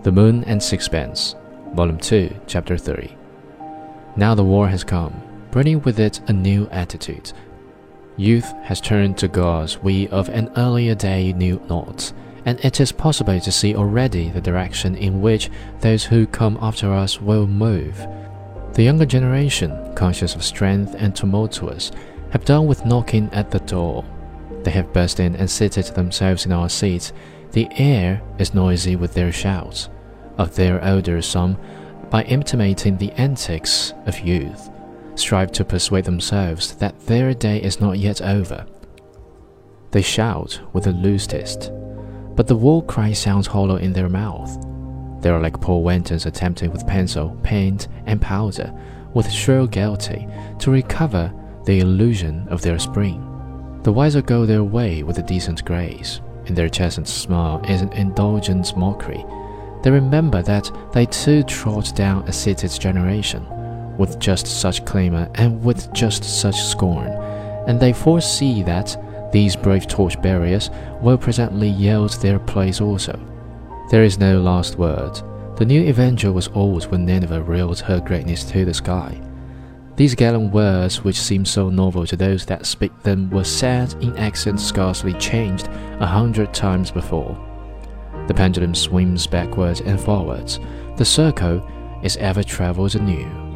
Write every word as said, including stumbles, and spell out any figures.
The Moon and Sixpence, Volume two, Chapter thirty. Now the war has come, bringing with it a new attitude. Youth has turned to gods we of an earlier day knew not, and it is possible to see already the direction in which those who come after us will move. The younger generation, conscious of strength and tumultuous, have done with knocking at the door. They have burst in and seated themselves in our seats. The air is noisy with their shouts. Of their older some, by imitating the antics of youth, strive to persuade themselves that their day is not yet over. They shout with the loosest, but the war cry sounds hollow in their mouth. They are like poor wantons attempting with pencil, paint, and powder, with shrill gaiety, to recover the illusion of their spring. The wiser go their way with a decent grace. In their chastened smile is an indulgent mockery. They remember that they too trod down a seated generation, with just such clamour and with just such scorn, and they foresee that these brave torch-bearers will presently yield their place also. There is no last word. The new evangel was old when Nineveh reeled her greatness to the sky. These gallant words, which seem so novel to those that speak them, were said in accents scarcely changed a hundred times before. The pendulum swims backwards and forwards. The circle is ever travelled anew.